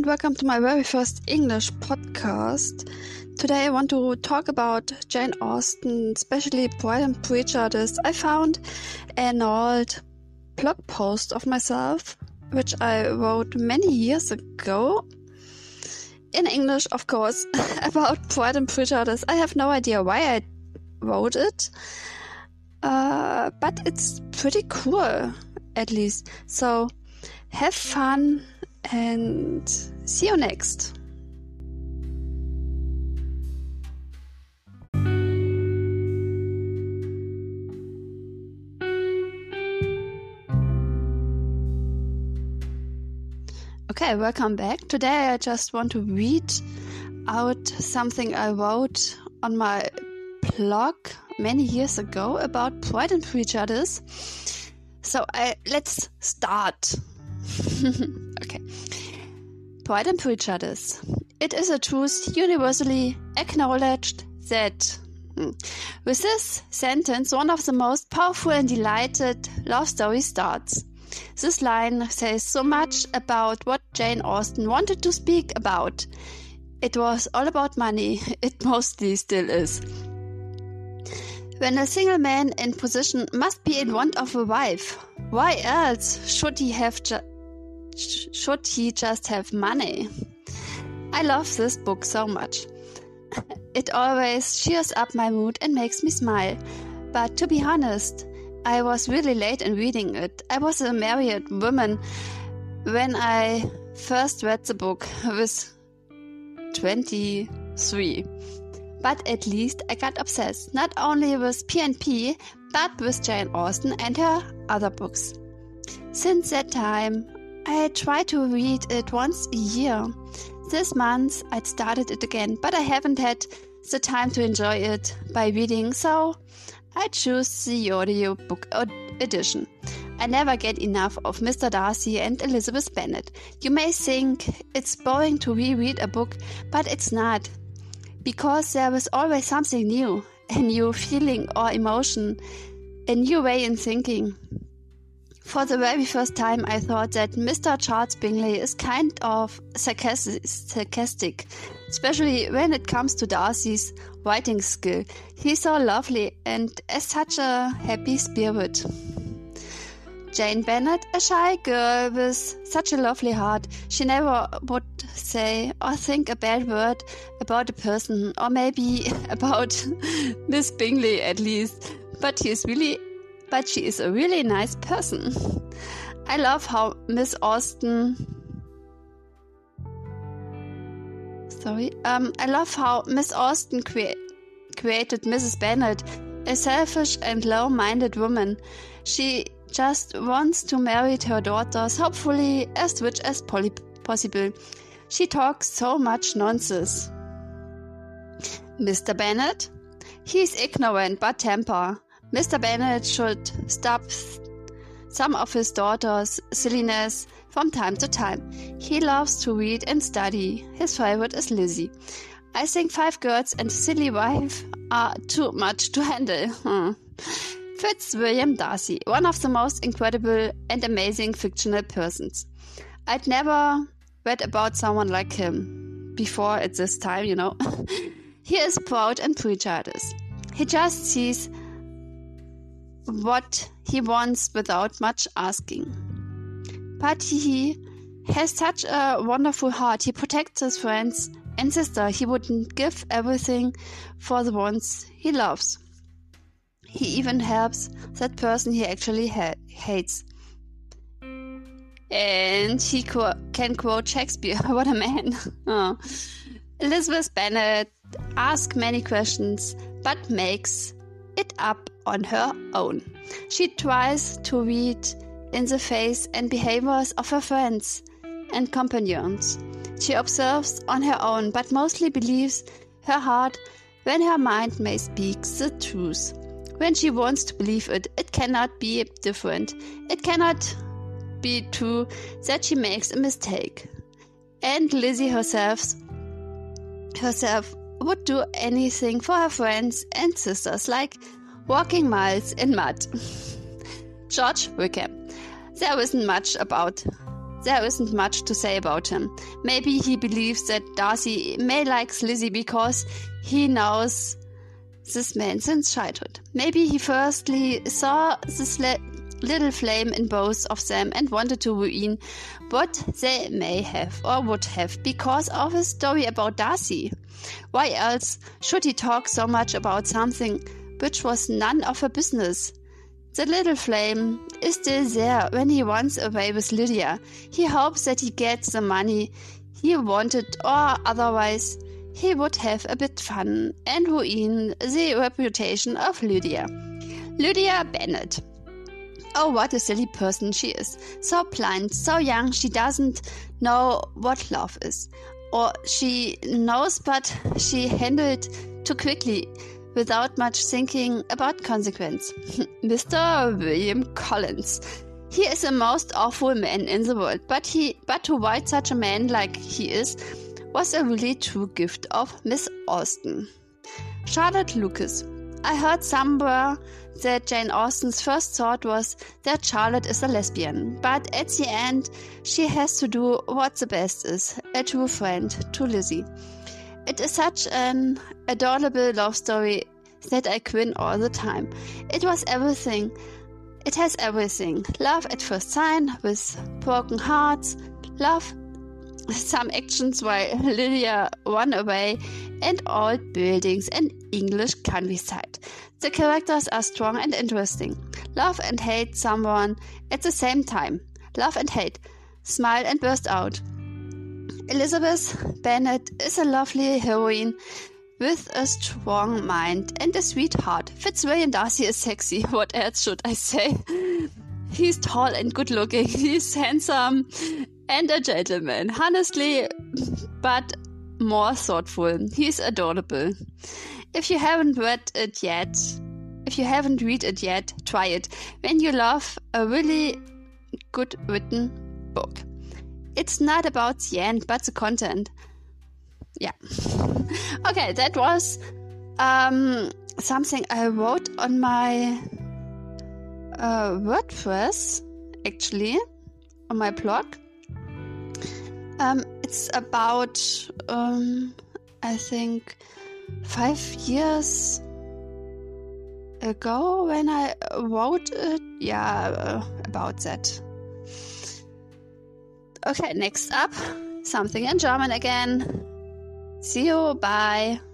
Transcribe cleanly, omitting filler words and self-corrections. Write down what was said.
welcome to my very first English podcast. Today I want to talk about Jane Austen, especially Pride and Prejudice. I found an old blog post of myself, which I wrote many years ago, in English of course, about Pride and Prejudice. I have no idea why I wrote it, but it's pretty cool, at least. So have fun and see you next. Okay, welcome back. Today I just want to read out something I wrote on my blog many years ago about Pride and Prejudice. So let's start. Okay. Pride and Prejudice. It is a truth universally acknowledged that with this sentence, one of the most powerful and delighted love stories starts. This line says so much about what Jane Austen wanted to speak about. It was all about money. It mostly still is. When a single man in position must be in want of a wife, why else should he just have money? I love this book so much. It always cheers up my mood and makes me smile. But to be honest, I was really late in reading it. I was a married woman when I first read the book. I was 23. But at least I got obsessed, not only with P&P, but with Jane Austen and her other books. Since that time, I try to read it once a year. This month, I started it again, but I haven't had the time to enjoy it by reading, so I choose the audiobook edition. I never get enough of Mr. Darcy and Elizabeth Bennet. You may think it's boring to reread a book, but it's not. Because there is always something new, a new feeling or emotion, a new way in thinking. For the very first time, I thought that Mr. Charles Bingley is kind of sarcastic, especially when it comes to Darcy's writing skill. He's so lovely and has such a happy spirit. Jane Bennet, a shy girl with such a lovely heart, she never would say or think a bad word about a person, or maybe about Miss Bingley at least, but she is a really nice person. I love how Miss Austen created Mrs. Bennet, a selfish and low-minded woman. She just wants to marry her daughters, hopefully as rich as possible. She talks so much nonsense. Mr. Bennet? He's ignorant but temper. Mr. Bennet should stop some of his daughters' silliness from time to time. He loves to read and study. His favorite is Lizzie. I think 5 girls and a silly wife are too much to handle. Fitzwilliam Darcy, one of the most incredible and amazing fictional persons. I'd never read about someone like him before at this time, you know. He is proud and prejudiced. He just sees what he wants without much asking. But he has such a wonderful heart. He protects his friends and sister. He wouldn't give everything for the ones he loves. He even helps that person he actually hates. And he can quote Shakespeare. What a man. Oh. Elizabeth Bennet asks many questions, but makes it up on her own. She tries to read in the face and behaviors of her friends and companions. She observes on her own, but mostly believes her heart when her mind may speak the truth. When she wants to believe it, it cannot be different. It cannot be true that she makes a mistake. And Lizzie herself would do anything for her friends and sisters, like walking miles in mud. George Wickham. There isn't much about there isn't much to say about him. Maybe he believes that Darcy may like Lizzie because he knows this man since childhood. Maybe he firstly saw this little flame in both of them and wanted to ruin what they may have or would have because of his story about Darcy. Why else should he talk so much about something which was none of her business? The little flame is still there when he runs away with Lydia. He hopes that he gets the money he wanted, or otherwise he would have a bit fun and ruin the reputation of Lydia. Lydia Bennet. Oh, what a silly person she is. So blind, so young, she doesn't know what love is. Or she knows, but she handled too quickly, without much thinking about consequence. Mr. William Collins. He is the most awful man in the world, but to write such a man like he is was a really true gift of Miss Austen. Charlotte Lucas. I heard somewhere that Jane Austen's first thought was that Charlotte is a lesbian, but at the end she has to do what the best is, a true friend to Lizzie. It is such an adorable love story that I grin all the time. It has everything. Love at first sight with broken hearts, love, some actions while Lydia ran away, and old buildings and English countryside. The characters are strong and interesting. Love and hate someone at the same time. Love and hate. Smile and burst out. Elizabeth Bennet is a lovely heroine with a strong mind and a sweet heart. Fitzwilliam Darcy is sexy. What else should I say? He's tall and good looking. He's handsome and a gentleman. Honestly, but more thoughtful. He's adorable. If you haven't read it yet, try it. When you love a really good written book. It's not about the end, but the content. Yeah. Okay, that was something I wrote on my WordPress, actually, on my blog. It's about, I think, 5 years ago when I wrote it. Yeah, about that. Okay, next up, something in German again. See you, bye.